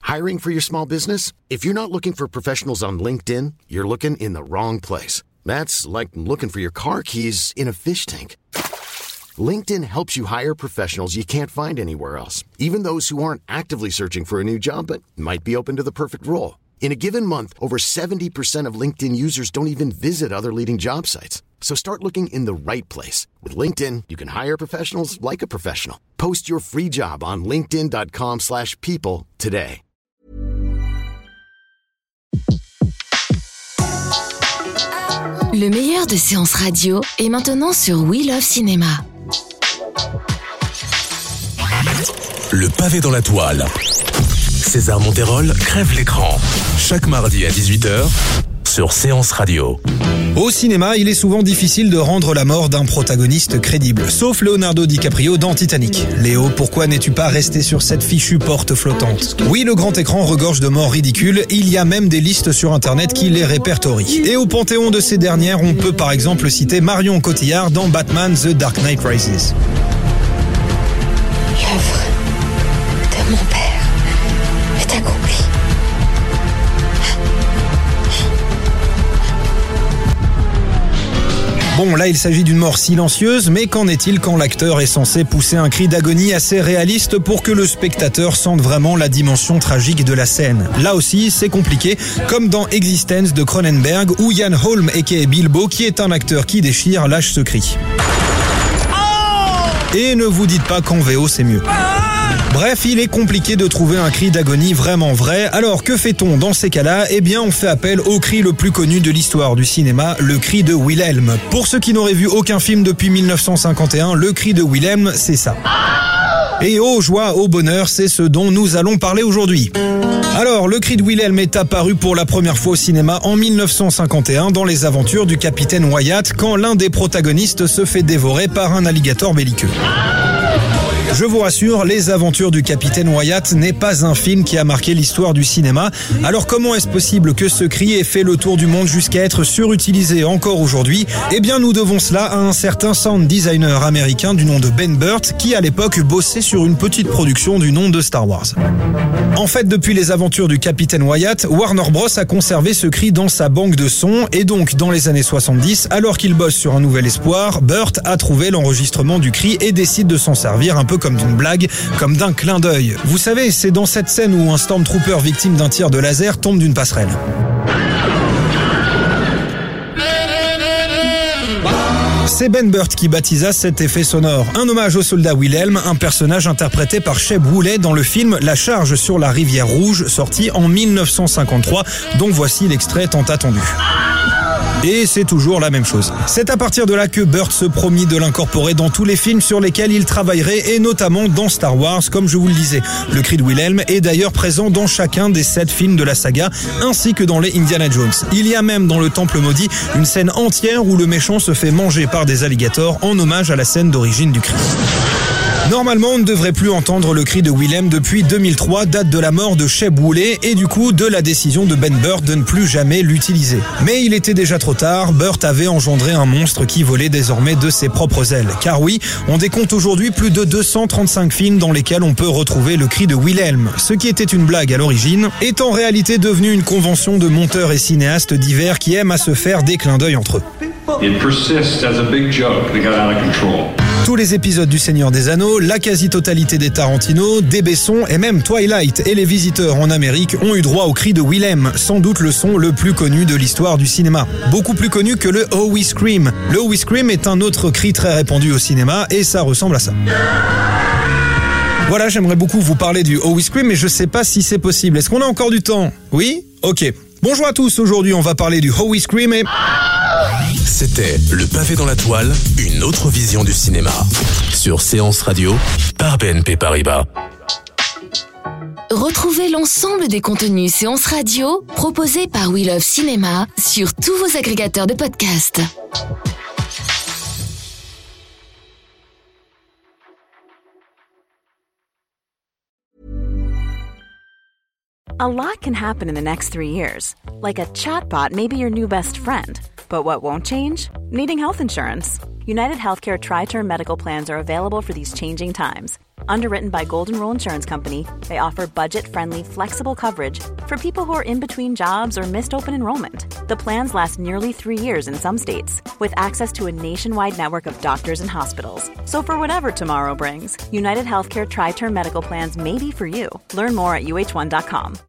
Hiring for your small business? If you're not looking for professionals on LinkedIn, you're looking in the wrong place. That's like looking for your car keys in a fish tank. LinkedIn helps you hire professionals you can't find anywhere else, even those who aren't actively searching for a new job but might be open to the perfect role. In a given month, over 70% of LinkedIn users don't even visit other leading job sites. So start looking in the right place. With LinkedIn, you can hire professionals like a professional. Post your free job on linkedin.com/people today. Le meilleur de séances radio est maintenant sur We Love Cinéma. Le pavé dans la toile. César Monterol crève l'écran. Chaque mardi à 18h sur Séance Radio. Au cinéma, il est souvent difficile de rendre la mort d'un protagoniste crédible, sauf Leonardo DiCaprio dans Titanic. Léo, pourquoi n'es-tu pas resté sur cette fichue porte flottante ? Oui, le grand écran regorge de morts ridicules, il y a même des listes sur internet qui les répertorient. Et au panthéon de ces dernières, on peut par exemple citer Marion Cotillard dans Batman The Dark Knight Rises. L'œuvre de mon père est accomplie. Bon, là, il s'agit d'une mort silencieuse, mais qu'en est-il quand l'acteur est censé pousser un cri d'agonie assez réaliste pour que le spectateur sente vraiment la dimension tragique de la scène ? Là aussi, c'est compliqué, comme dans Existence de Cronenberg, où Ian Holm, aka Bilbo, qui est un acteur qui déchire, lâche ce cri. Et ne vous dites pas qu'en VO c'est mieux. Bref, il est compliqué de trouver un cri d'agonie vraiment vrai. Alors que fait-on dans ces cas-là ? Eh bien, on fait appel au cri le plus connu de l'histoire du cinéma, le cri de Wilhelm. Pour ceux qui n'auraient vu aucun film depuis 1951, le cri de Wilhelm, c'est ça. Et oh joie, oh bonheur, c'est ce dont nous allons parler aujourd'hui. Alors, le cri de Wilhelm est apparu pour la première fois au cinéma en 1951 dans Les Aventures du Capitaine Wyatt, quand l'un des protagonistes se fait dévorer par un alligator belliqueux. Je vous rassure, Les Aventures du Capitaine Wyatt n'est pas un film qui a marqué l'histoire du cinéma. Alors comment est-ce possible que ce cri ait fait le tour du monde jusqu'à être surutilisé encore aujourd'hui ? Eh bien, nous devons cela à un certain sound designer américain du nom de Ben Burtt, qui à l'époque bossait sur une petite production du nom de Star Wars. En fait, depuis Les Aventures du Capitaine Wyatt, Warner Bros a conservé ce cri dans sa banque de sons, et donc dans les années 70, alors qu'il bosse sur Un Nouvel Espoir, Burtt a trouvé l'enregistrement du cri et décide de s'en servir un peu comme d'une blague, comme d'un clin d'œil. Vous savez, c'est dans cette scène où un Stormtrooper victime d'un tir de laser tombe d'une passerelle. C'est Ben Burtt qui baptisa cet effet sonore. Un hommage au soldat Wilhelm, un personnage interprété par Sheb Woolley dans le film La Charge sur la rivière Rouge, sorti en 1953, dont voici l'extrait tant attendu. Et c'est toujours la même chose. C'est à partir de là que Burtt se promit de l'incorporer dans tous les films sur lesquels il travaillerait, et notamment dans Star Wars, comme je vous le disais. Le cri de Wilhelm est d'ailleurs présent dans chacun des 7 films de la saga, ainsi que dans les Indiana Jones. Il y a même dans le Temple Maudit une scène entière où le méchant se fait manger par des alligators en hommage à la scène d'origine du cri. Normalement, on ne devrait plus entendre le cri de Wilhelm depuis 2003, date de la mort de Sheb Woolley et du coup de la décision de Ben Burtt de ne plus jamais l'utiliser. Mais il était déjà trop tard, Burtt avait engendré un monstre qui volait désormais de ses propres ailes. Car oui, on décompte aujourd'hui plus de 235 films dans lesquels on peut retrouver le cri de Wilhelm. Ce qui était une blague à l'origine est en réalité devenu une convention de monteurs et cinéastes divers qui aiment à se faire des clins d'œil entre eux. It persists as a big joke that got out of control. Tous les épisodes du Seigneur des Anneaux, la quasi-totalité des Tarantino, des Besson et même Twilight et Les Visiteurs en Amérique ont eu droit au cri de Wilhelm, sans doute le son le plus connu de l'histoire du cinéma. Beaucoup plus connu que le Oh We Scream. Le Oh We Scream est un autre cri très répandu au cinéma et ça ressemble à ça. Voilà, j'aimerais beaucoup vous parler du Oh We Scream, mais je sais pas si c'est possible. Est-ce qu'on a encore du temps ? Oui ? Ok. Bonjour à tous, aujourd'hui on va parler du Oh We Scream et... C'était Le Pavé dans la Toile, une autre vision du cinéma. Sur Séance Radio, par BNP Paribas. Retrouvez l'ensemble des contenus Séance Radio proposés par We Love Cinéma sur tous vos agrégateurs de podcasts. A lot can happen in the next 3 years. Like a chatbot may be your new best friend. But what won't change? Needing health insurance. United Healthcare Tri-Term Medical Plans are available for these changing times. Underwritten by Golden Rule Insurance Company, they offer budget-friendly, flexible coverage for people who are in between jobs or missed open enrollment. The plans last nearly 3 years in some states, with access to a nationwide network of doctors and hospitals. So for whatever tomorrow brings, United Healthcare Tri-Term Medical Plans may be for you. Learn more at uh1.com.